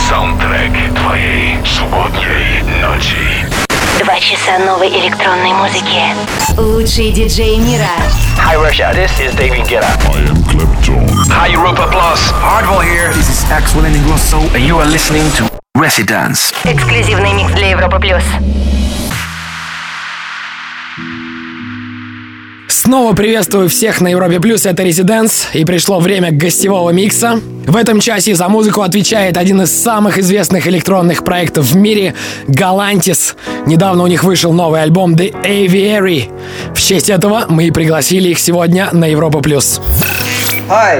Саундтрек твоей субботней ночи. 2 часа новой электронной музыки. Лучшие диджеи мира. Hi Russia, this is David Guetta. I am Clapton. Hi Europa Plus. Hardwell here. This is Axel Ingrosso, And you are listening to Residence. Эксклюзивный микс для Европы плюс. Снова приветствую всех на Европе Плюс, это Residence, и пришло время гостевого микса. В этом часе за музыку отвечает один из самых известных электронных проектов в мире — Galantis. Недавно у них вышел новый альбом The Aviary. В честь этого мы и пригласили их сегодня на Европу Плюс. Hi.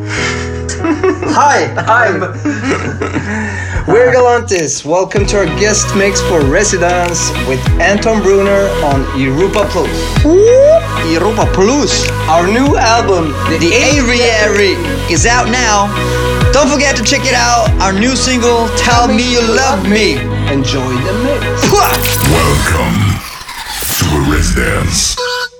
Hi. We're Galantis. Welcome to our guest mix for Residence with Anton Brunner on Europa Plus. Europa Plus. Our new album, The Aviary, is out now. Don't forget to check it out. Our new single, Tell Me You Love Me. Enjoy the mix. Welcome to a Residence.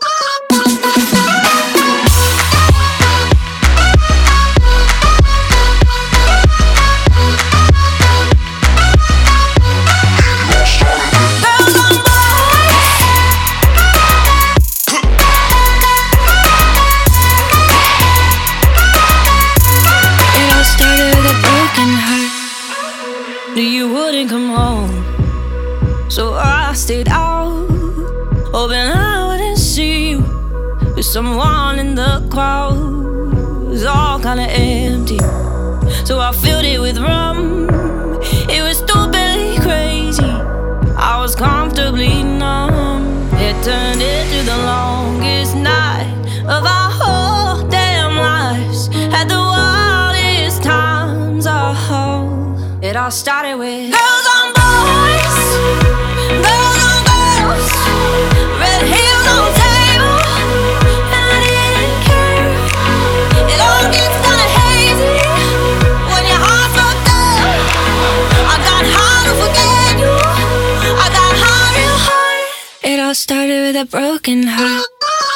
Stayed out, hoping I wouldn't see you with someone in the crowd. It was all kinda empty, so I filled it with rum. It was stupidly crazy, I was comfortably numb. It turned into the longest night of our whole damn lives. Had the wildest times, oh. It all started with girls on boys, girls on girls, red heels on table, and I didn't care. It all gets kinda hazy when your heart's fucked up. I got hard to forget you, I got hard real hard. It all started with a broken heart.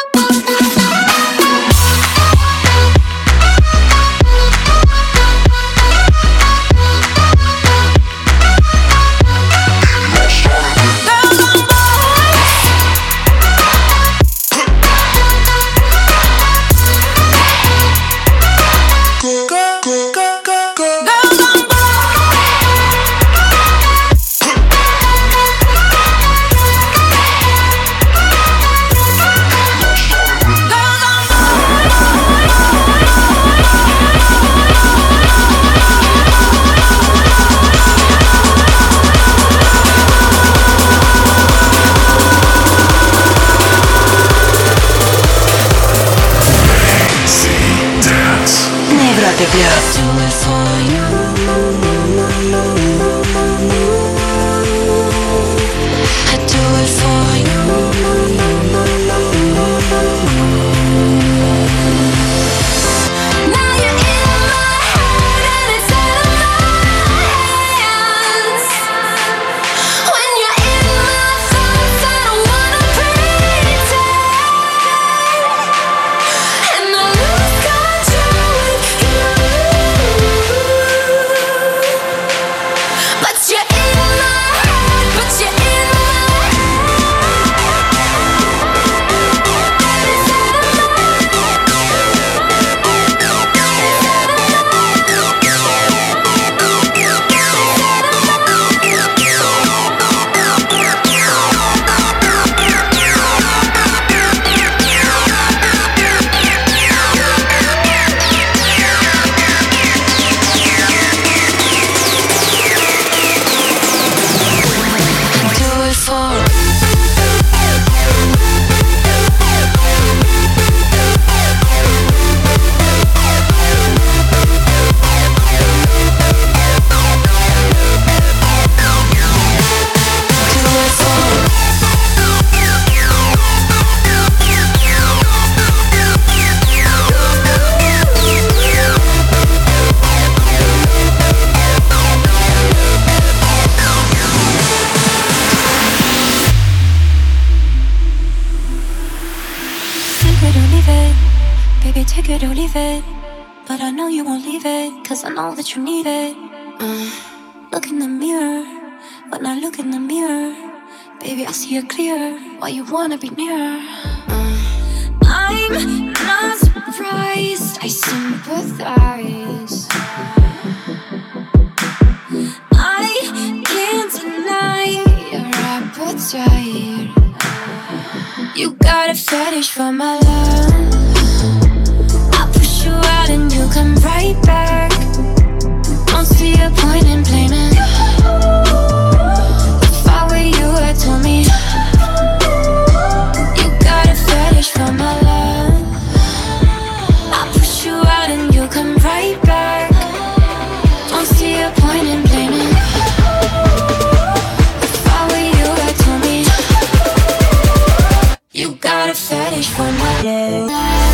it or leave it. But I know you won't leave it, cause I know that you need it. Look in the mirror. When I look in the mirror, baby, I see it clear. Why you wanna be near? I'm not surprised, I sympathize. I can't deny your appetite. You got a fetish for my love. I push you out and you come right back. Don't see a point in blaming. If I were you, I told me you got a fetish for my love. I push you out and you come right back. Don't see a point in blaming. If I were you, I told me you got a fetish for my love.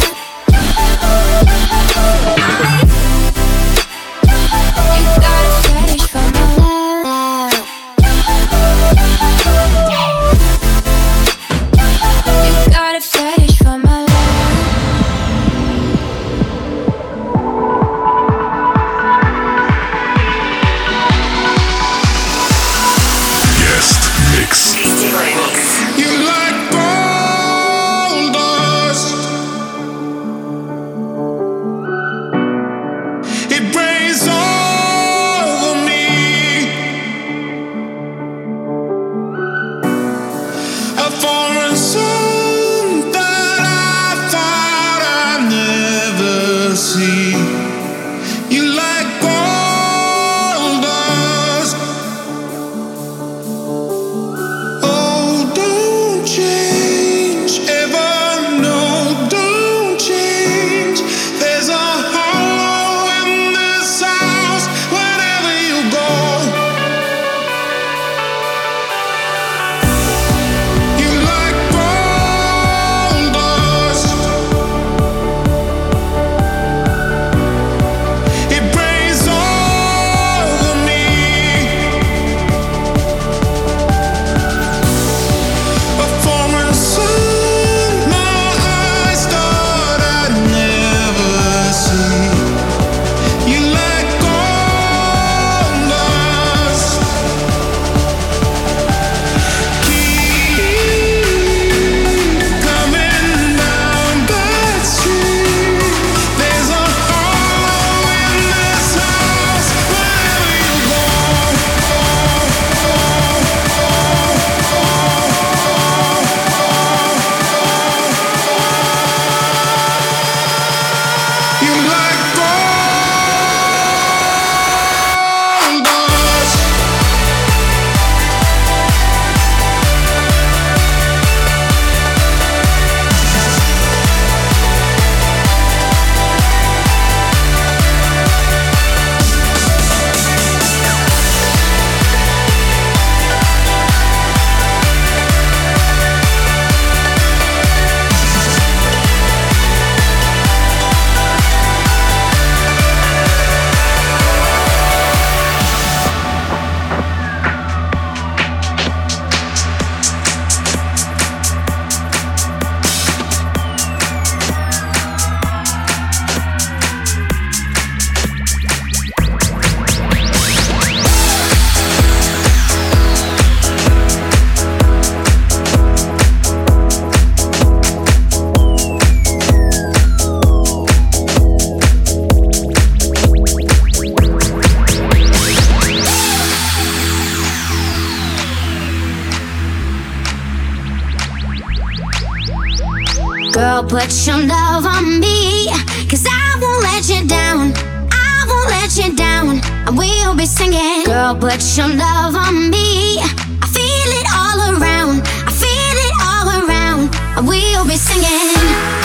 Girl, put your love on me, 'cause I won't let you down. I won't let you down. And we'll be singing. Girl, put your love on me. I feel it all around. I feel it all around. And we'll be singing.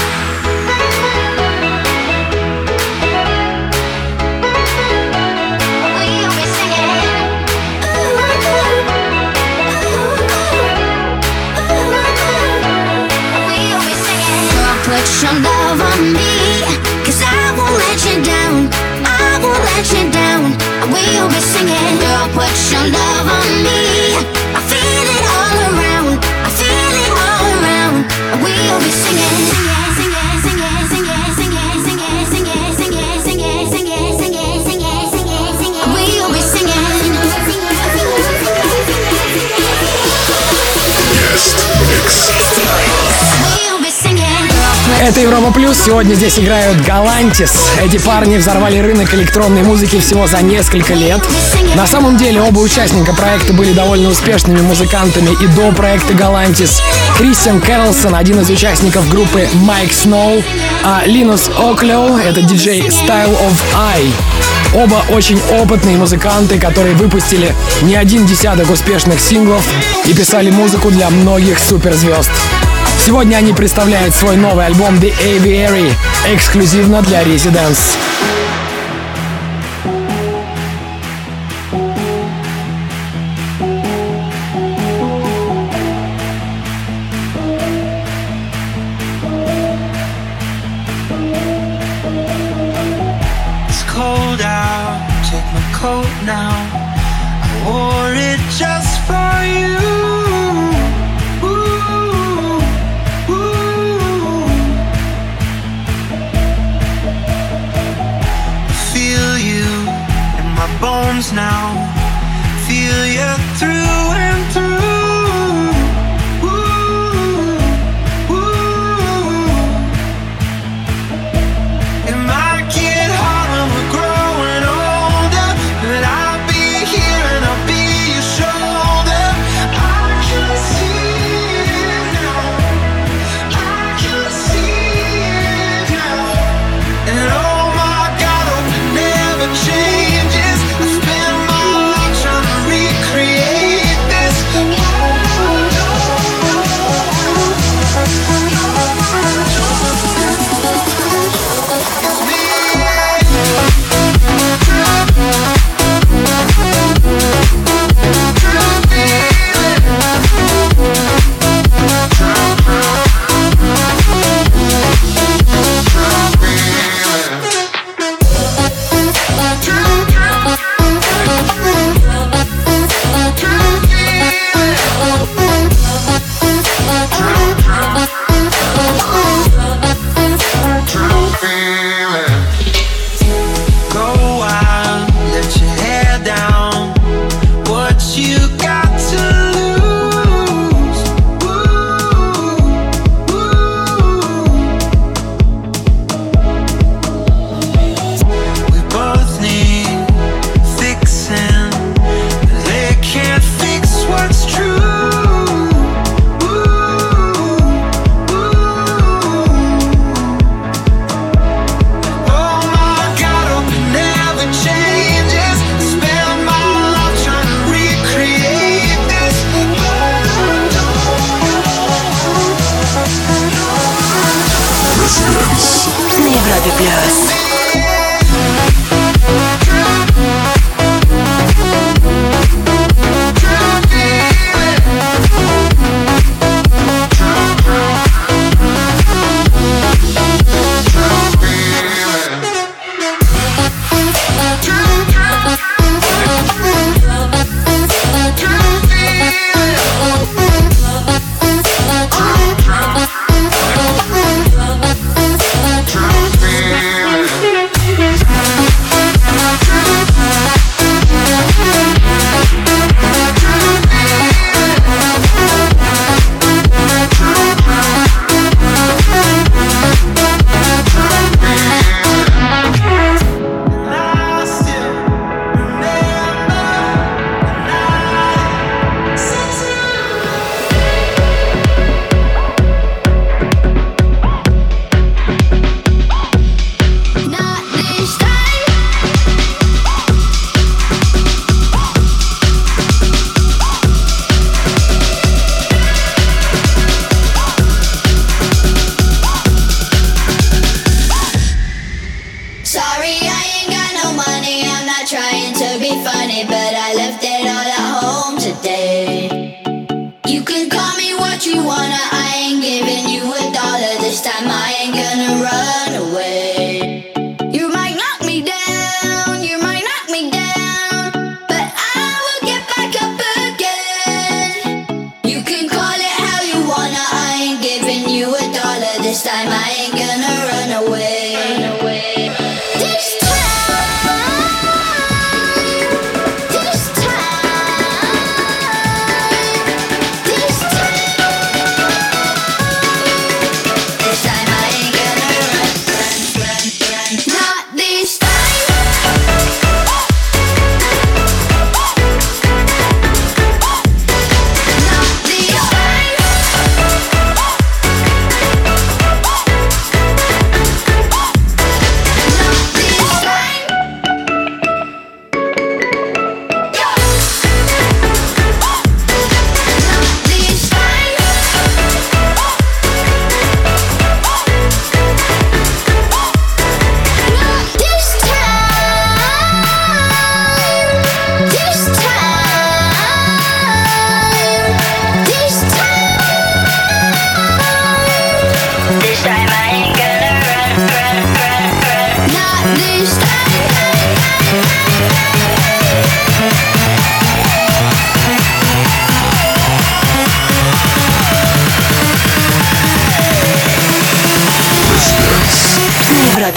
Put your love on me, 'cause I won't let you down. I won't let you down. And we'll be singing. Girl, put your love on me. I feel it all around. I feel it all around. And we'll be singing. Это Европа Плюс. Сегодня здесь играют Galantis. Эти парни взорвали рынок электронной музыки всего за несколько лет. На самом деле оба участника проекта были довольно успешными музыкантами и до проекта Galantis. Кристиан Кэролсон, один из участников группы Mike Snow, а Линус Оклео — это диджей Style of Eye. Оба очень опытные музыканты, которые выпустили не один десяток успешных синглов и писали музыку для многих суперзвезд. Сегодня они представляют свой новый альбом The Aviary эксклюзивно для Residence.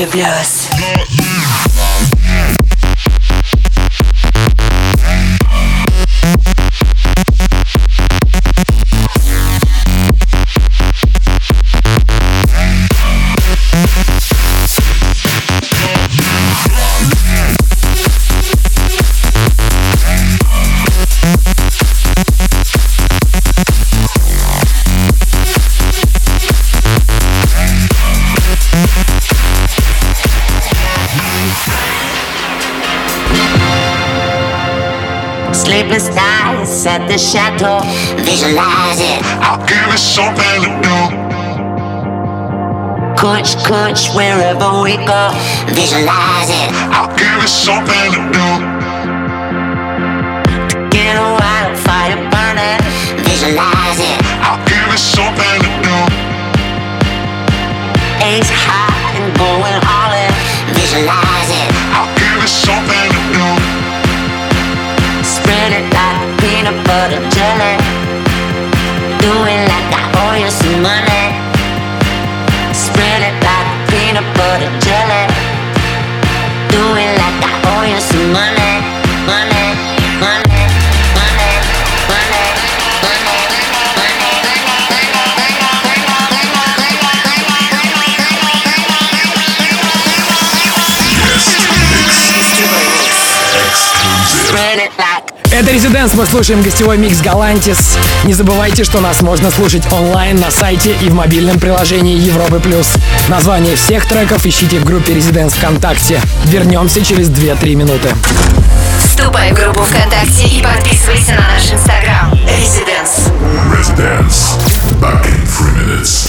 Европе плюс. Sleepless nights at the chateau, visualize it. I'll give you something to do. Coach, wherever we go, visualize it. I'll give you something to do. Get a wildfire burning, visualize it. I'll give you something to do. Ace high and going all in, visualize it. I'll give you something to do. Spread it like peanut butter jelly. Do it like I owe you some money. Spread it like peanut butter jelly. Do it like I owe you some money. Money, money, money, money, money, Spread it like. Это Residence, мы слушаем гостевой микс Galantis. Не забывайте, что нас можно слушать онлайн на сайте и в мобильном приложении Европы+. Название всех треков ищите в группе Residence ВКонтакте. Вернемся через 2-3 минуты. Вступай в группу ВКонтакте и подписывайся на наш инстаграм. Residence. Residence. Back in 3 minutes.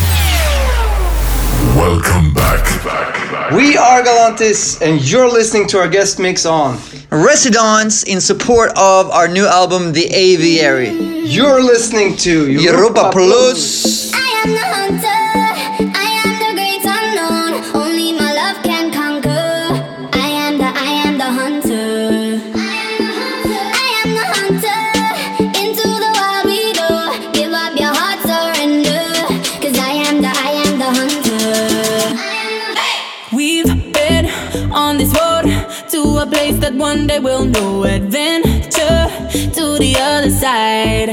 Welcome back. We are Galantis, and you're listening to our guest mix on Residence in support of our new album, The Aviary. You're listening to Europa Plus. I am the hunter, I am the great unknown. Only my love can conquer. I am the hunter. I am the hunter. Into the wild we go. Give up your heart, surrender. 'Cause I am the hunter. We've been on this road to a place that one day we'll know. Adventure to the other side.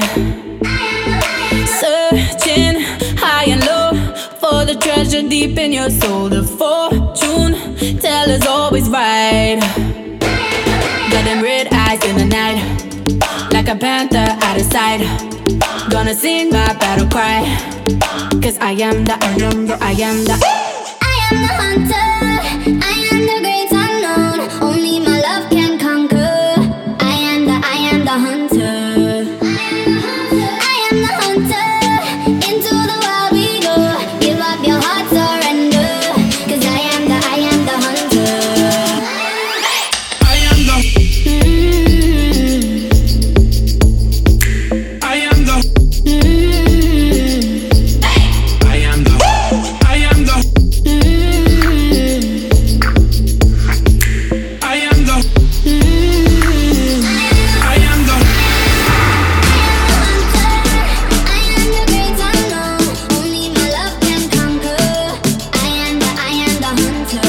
Searching high and low for the treasure deep in your soul. The fortune teller's always right. Got them red eyes in the night, like a panther out of sight. Gonna sing my battle cry, 'cause I am the hunter. I am the hunter. I am the great unknown. Only my love can conquer. I am the hunter. I am the hunter. Into the wild we go. Give up your heart, surrender. 'Cause I am the hunter. I am the I am the I am the I am the I am the I am the I am the great unknown. Only my love can conquer. I am the hunter.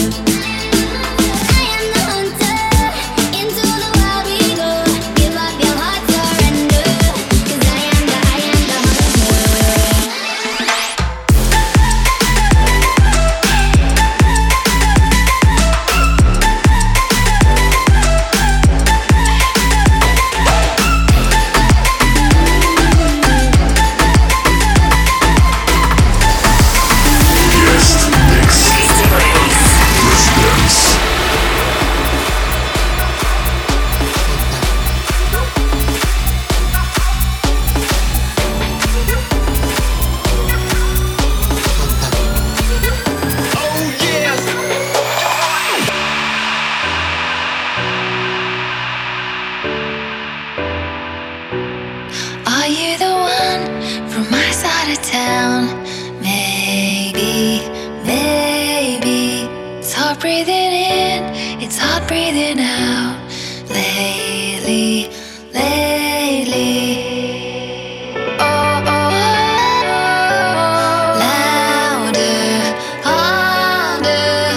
I am the hunter. Into the wild we go. Give up your heart, surrender. 'Cause I am the hunter. Guest mix. Residence. Are you the one from my side of town? Maybe, maybe. It's hard breathing in, it's hard breathing out. Lately, lately. Oh, oh, oh. Louder, harder.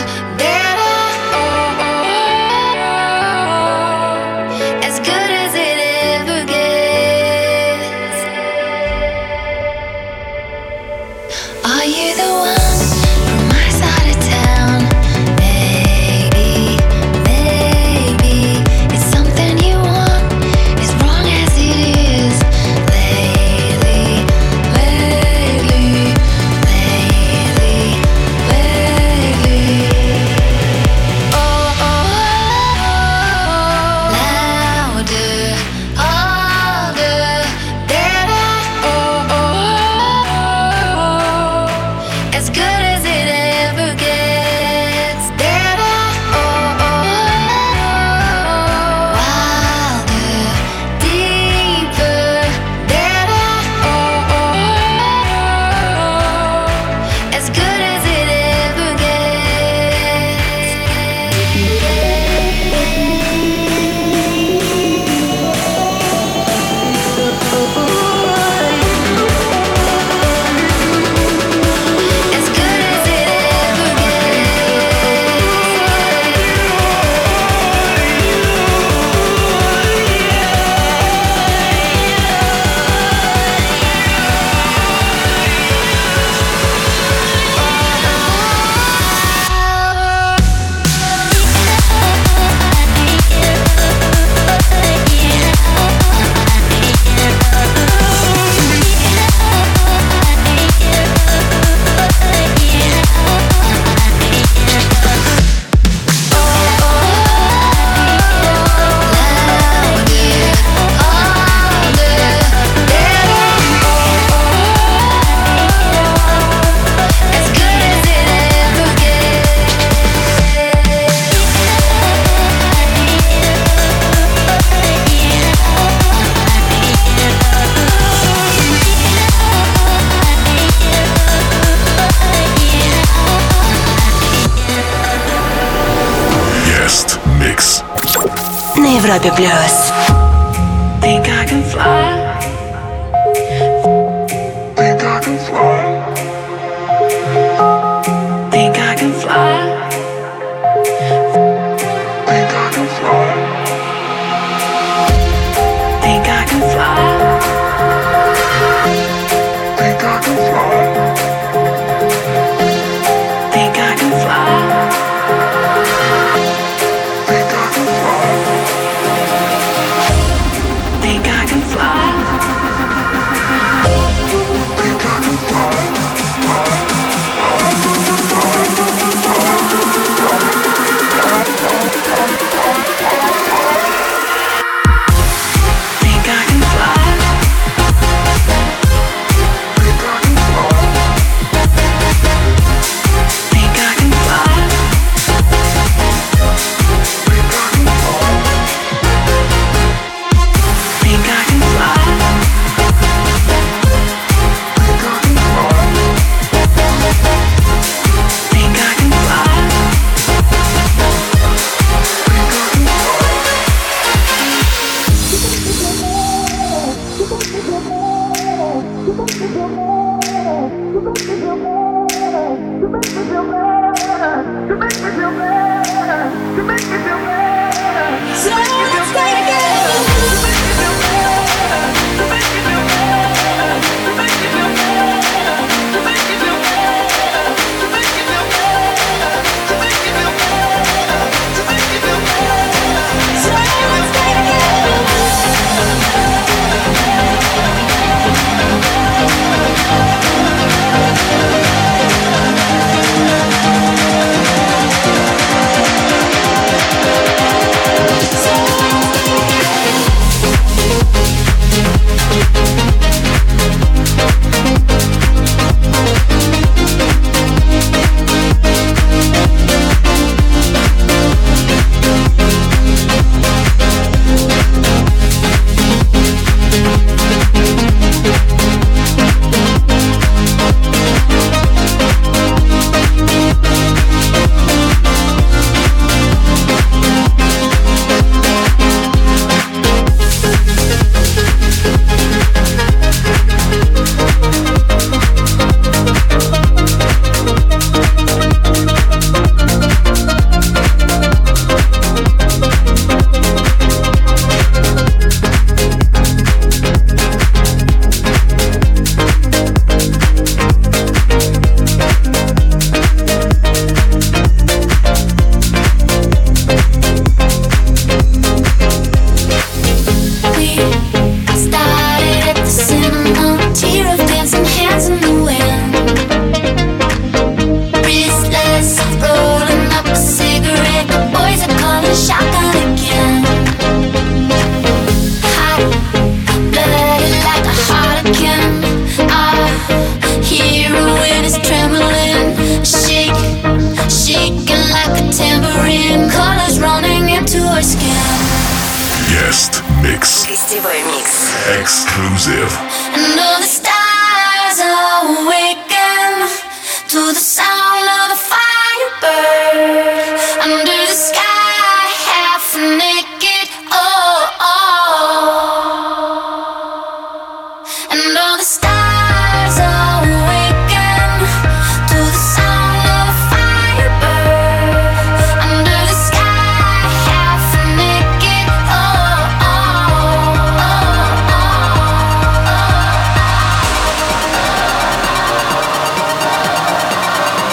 Европе плюс. Think I can fly. Think I can fly. Think I can fly. Think I can fly. Think I can fly. Think I can fly. Think I can fly. Think I can fly. Think I can fly. Think I can fly. Think I can fly. Think I can fly. Think I can fly. Think I can fly. Think I can fly. Guest mix. Гостевой микс. Exclusive. And all the stars awaken to the sound of the firebird under the sky, half naked. Oh, oh. And all the stars awaken to the sound of the firebird under the sky, half naked. Oh, oh, oh, oh, oh.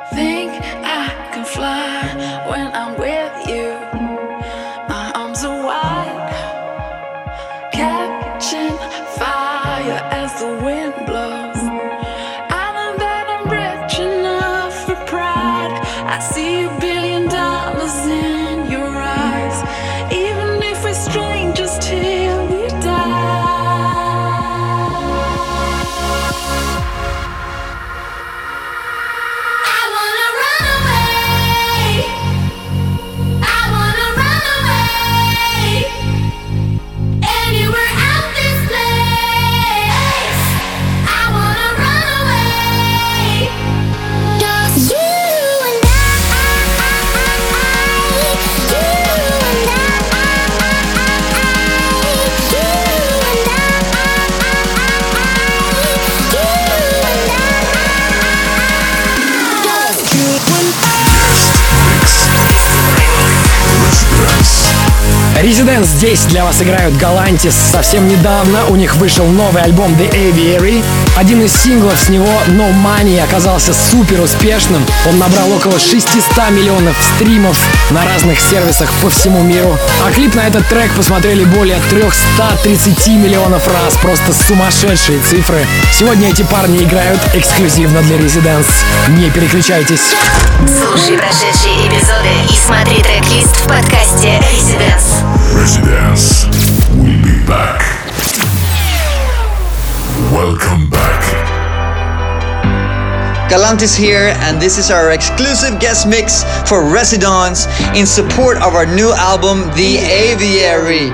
Think I can fly when I'm with you. My arms are wide, catching fire as the wind blows. I know that I'm rich enough for pride. I see $1 billion in your eyes, even if we're strangers till we die. Residence здесь для вас играют Galantis. Совсем недавно у них вышел новый альбом The Aviary. Один из синглов с него, No Money, оказался супер успешным. Он набрал около 600 миллионов стримов на разных сервисах по всему миру. А клип на этот трек посмотрели более 330 миллионов раз. Просто сумасшедшие цифры. Сегодня эти парни играют эксклюзивно для Residence. Не переключайтесь. Слушай прошедшие эпизоды и смотри трек-лист в подкасте Residence. Residence will be back. Welcome back. Galantis here, and this is our exclusive guest mix for Residence in support of our new album, The Aviary.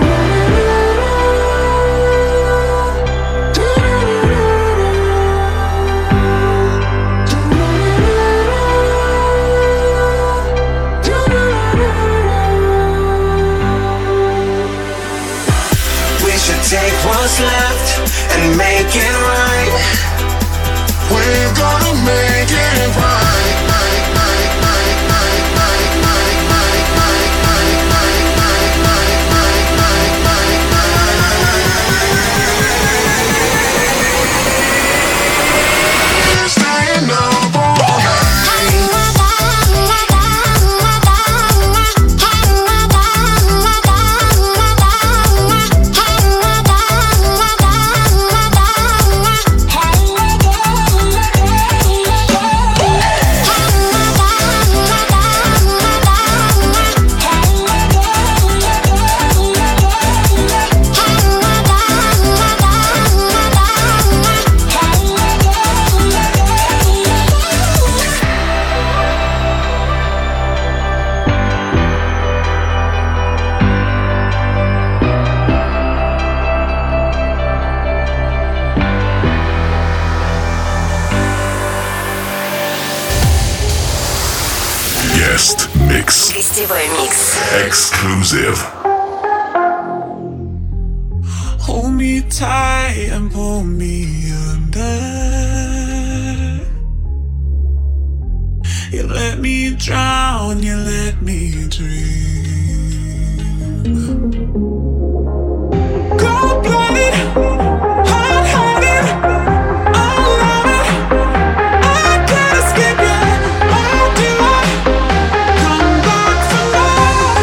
Take what's left and make it right. We're gonna make it right. We're staying up all Mix. Гостевой микс. Exclusive. Hold me tight and pull me under. You let me drown, you let me dream. Cold-blooded, hard-hearted, I love it. I can't escape you. Why do I come back for more?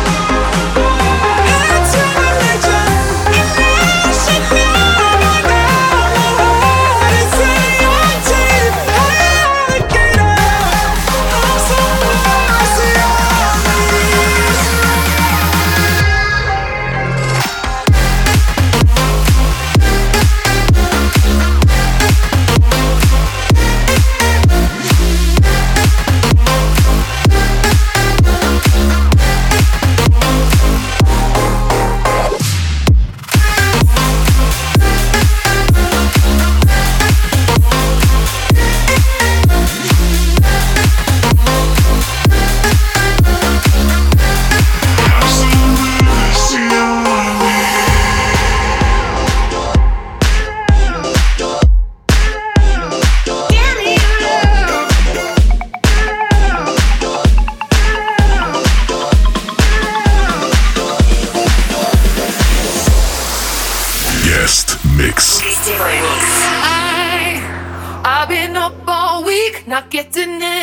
It's human nature, and I should know by now. It's in your teeth, alligator. I'm so mercy on me.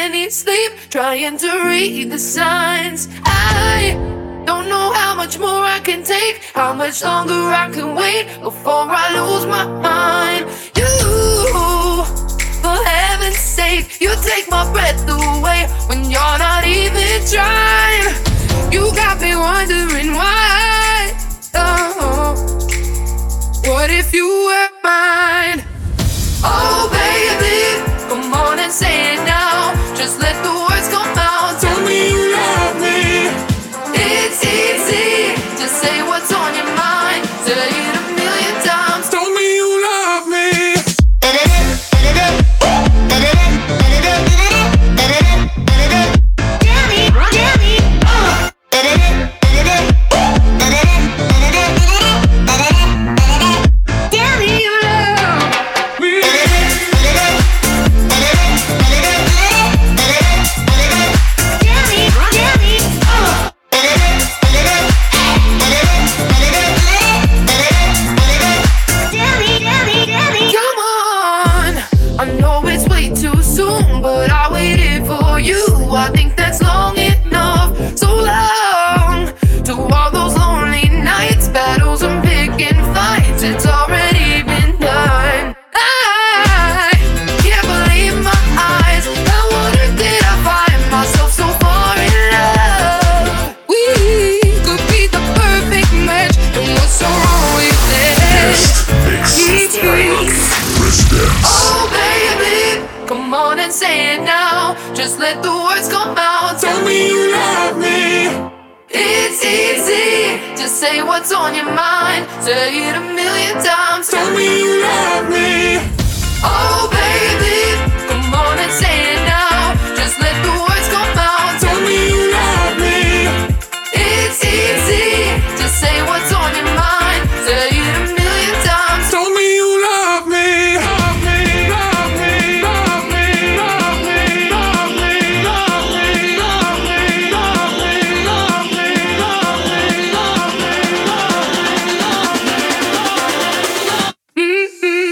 any sleep, trying to read the signs. I don't know how much more I can take, how much longer I can wait before I lose my mind. You, for heaven's sake, you take my breath away when you're not even trying. You got me wondering why. Oh, what if you were mine? Oh baby, come on and say it now. Just let the words come out. Tell me you love me. It's easy to say what's on your mind. Say it a million times. Tell me you love me. I think that's long enough, so long. To all those lonely nights, battles and picking fights, it's already been done. I can't believe my eyes. I wonder did I find myself so far in love? We could be the perfect match, and what's so wrong with this? Oh baby, come on and say it now. Just let the words come out. Tell me you love me. It's easy to say what's on your mind. Say it a million times. Tell me you love me. Oh baby, come on and say it now. Just let the words come out. Tell me you love me. It's easy to say what's on your mind. Say it a million times. Tell me you love me. Love me, love me, love me, love me, love me, love me, love me, love me, love me, love me, love me, love me.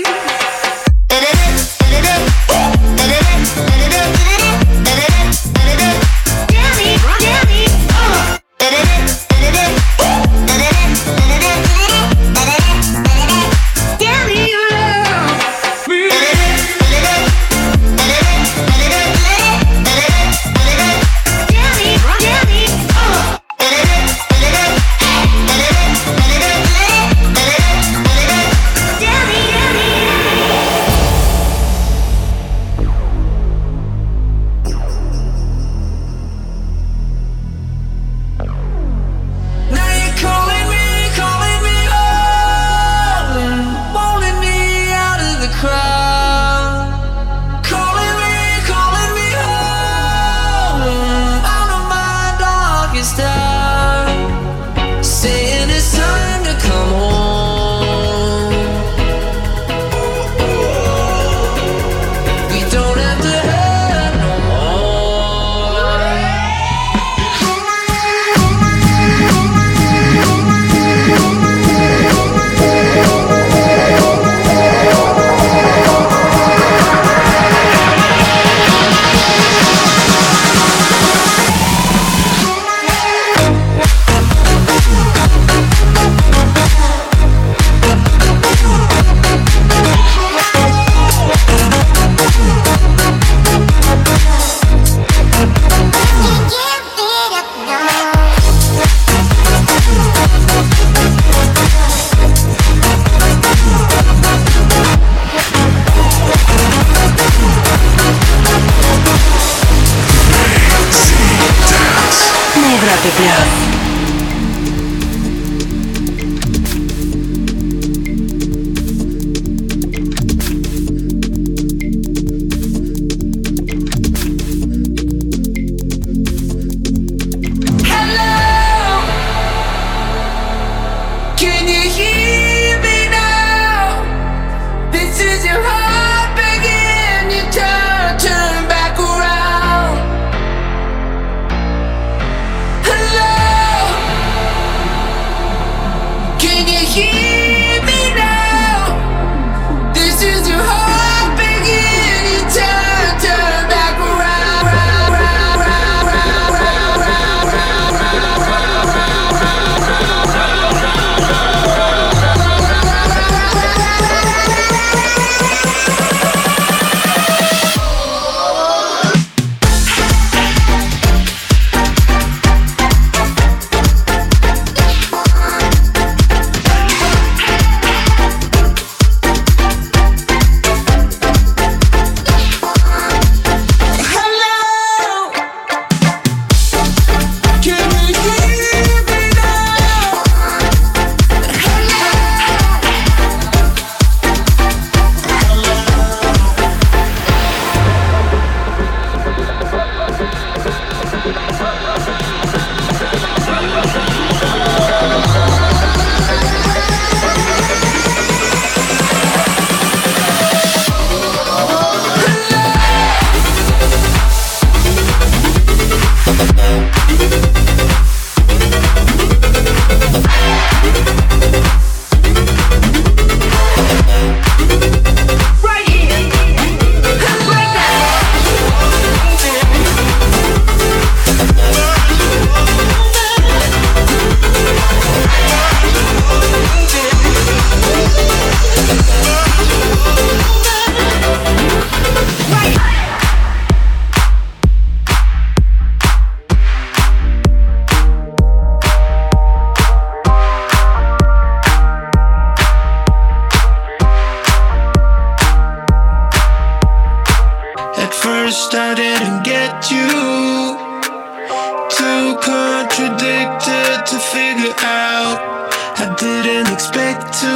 Hello. to figure out. I didn't expect to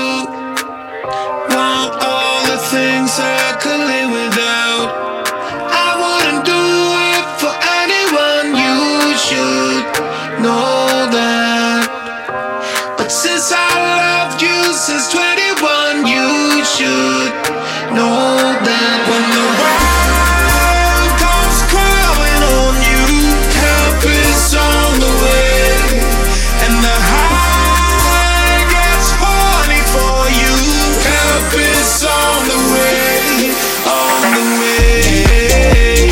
want all the things I could live without. I wouldn't do it for anyone, you should know that. But since I loved you since 21, you should know that. When the world comes crawling on you, help is on the way, and the high gets horny for you. Help is on the way, on the way.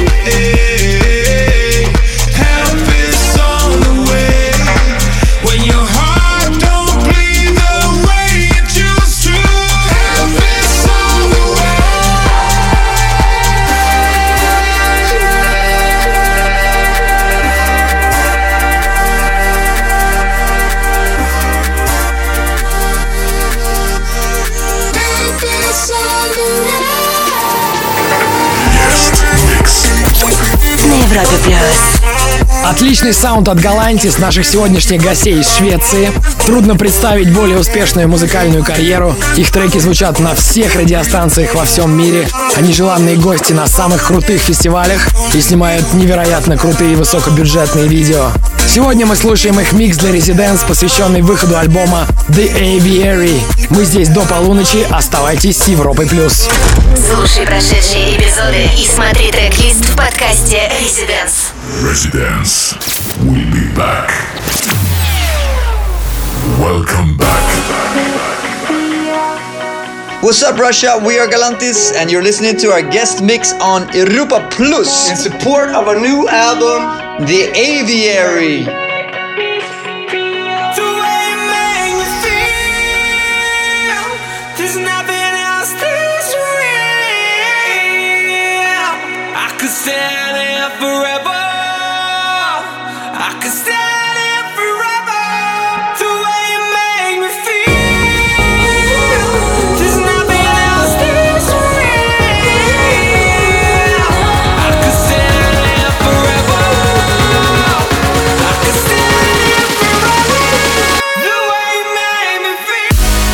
Help is on the way. When your heart don't bleed the way it used to, help is on the way. Help is on the way. На Европе Плюс. Отличный саунд от Galantis, наших сегодняшних гостей из Швеции. Трудно представить более успешную музыкальную карьеру. Их треки звучат на всех радиостанциях во всем мире. Они желанные гости на самых крутых фестивалях и снимают невероятно крутые высокобюджетные видео. Сегодня мы слушаем их микс для Residents, посвященный выходу альбома The Aviary. Мы здесь до полуночи. Оставайтесь с Европой Плюс. Слушай прошедшие эпизоды и смотри трек-лист в подкасте Residents. Residents will be back. Welcome back. What's up, Russia? We are Galantis, and you're listening to our guest mix on Europa Plus In support of our new album, The Aviary. The way you make me feel, there's nothing else that's real. I could stand here forever. I could stand here forever. The way you make me feel, there's nothing else that's real. I could stand here forever. I could stand here forever. The way you make me feel.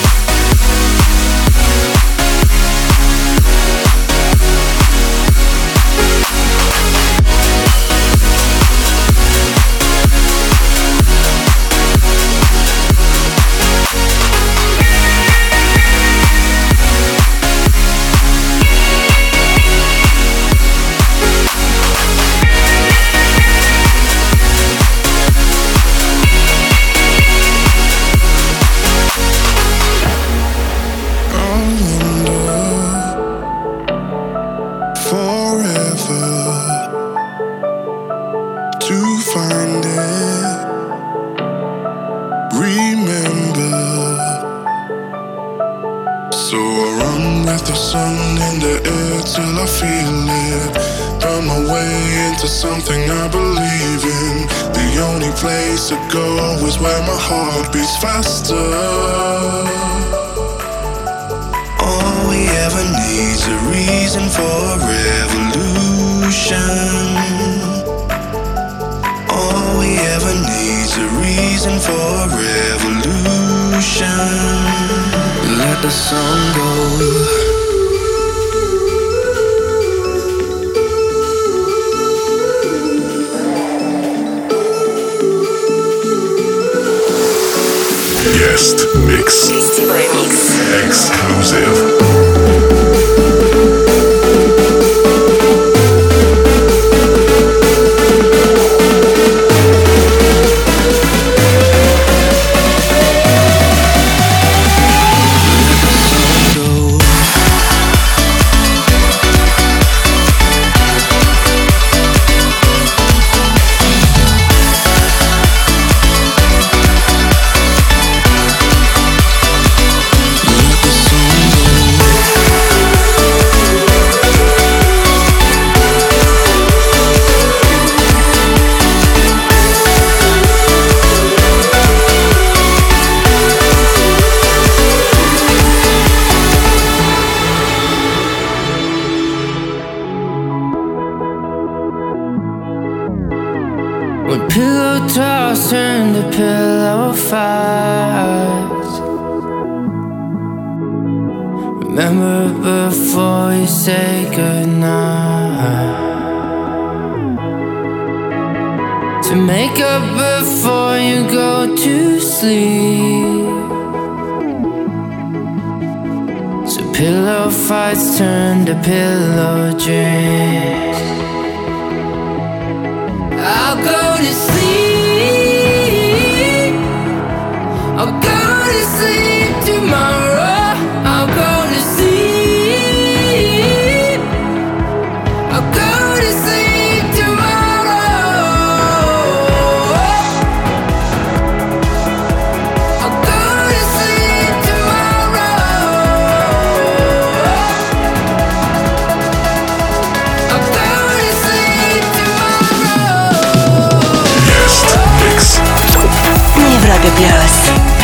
Forever to find it. Remember, so I run with the sun in the air till I feel it. Burn my way into something I believe in. The only place to go is where my heart beats faster. All we ever need's a reason for revolution. All we ever need's a reason for revolution. Let the sun go. Guest mix. Гостевой микс. Exclusive. Let the sun go. When pillow talks turn to pillow fights. Remember before you say goodnight. To make up before you go to sleep. So pillow fights turn to pillow dreams. I'll go to sleep. I'll go to sleep tomorrow. I'll go to sleep. I'll go to sleep tomorrow. I'll go to sleep tomorrow. I'll go to sleep tomorrow. Guest mix. На Европе Плюс.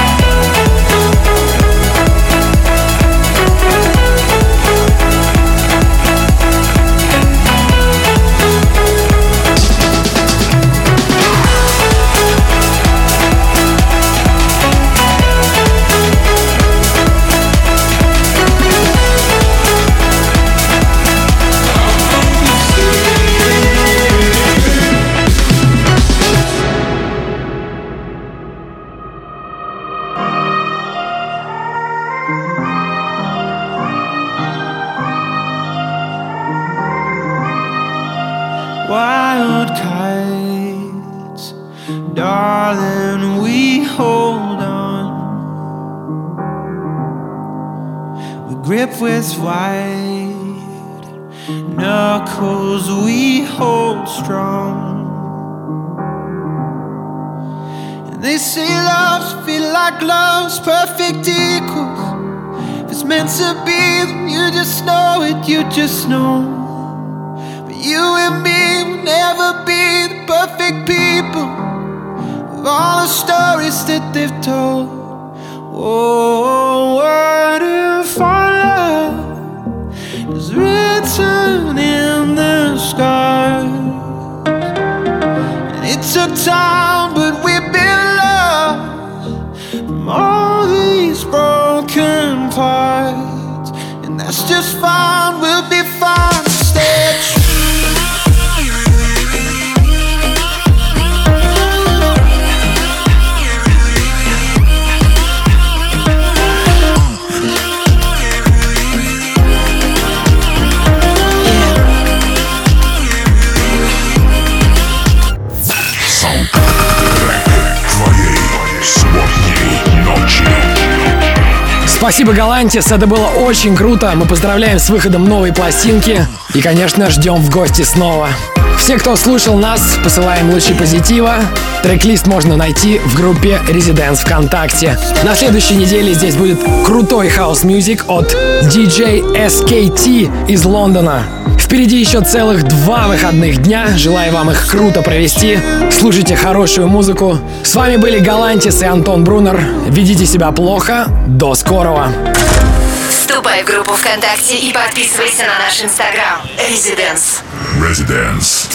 Wild kites, darling, we hold on. We grip with white knuckles, we hold strong. And they say loves feel like love's perfect equals. If it's meant to be, then you just know it, you just know. You and me will never be the perfect people of all the stories that they've told. Oh, what if our love is written in the scars? And it took time, but we've been lost from all these broken parts. And that's just fine, we'll be fine. Stay true. Спасибо, Галантис, это было очень круто. Мы поздравляем с выходом новой пластинки и, конечно, ждем в гости снова. Все, кто слушал нас, посылаем лучи позитива. Трек-лист можно найти в группе Residence ВКонтакте. На следующей неделе здесь будет крутой хаус-мьюзик от DJ SKT из Лондона. Впереди еще целых 2 выходных дня. Желаю вам их круто провести. Слушайте хорошую музыку. С вами были Галантис и Антон Брунер. Ведите себя плохо. До скорого. Вступай в группу ВКонтакте и подписывайся на наш Инстаграм. Residence.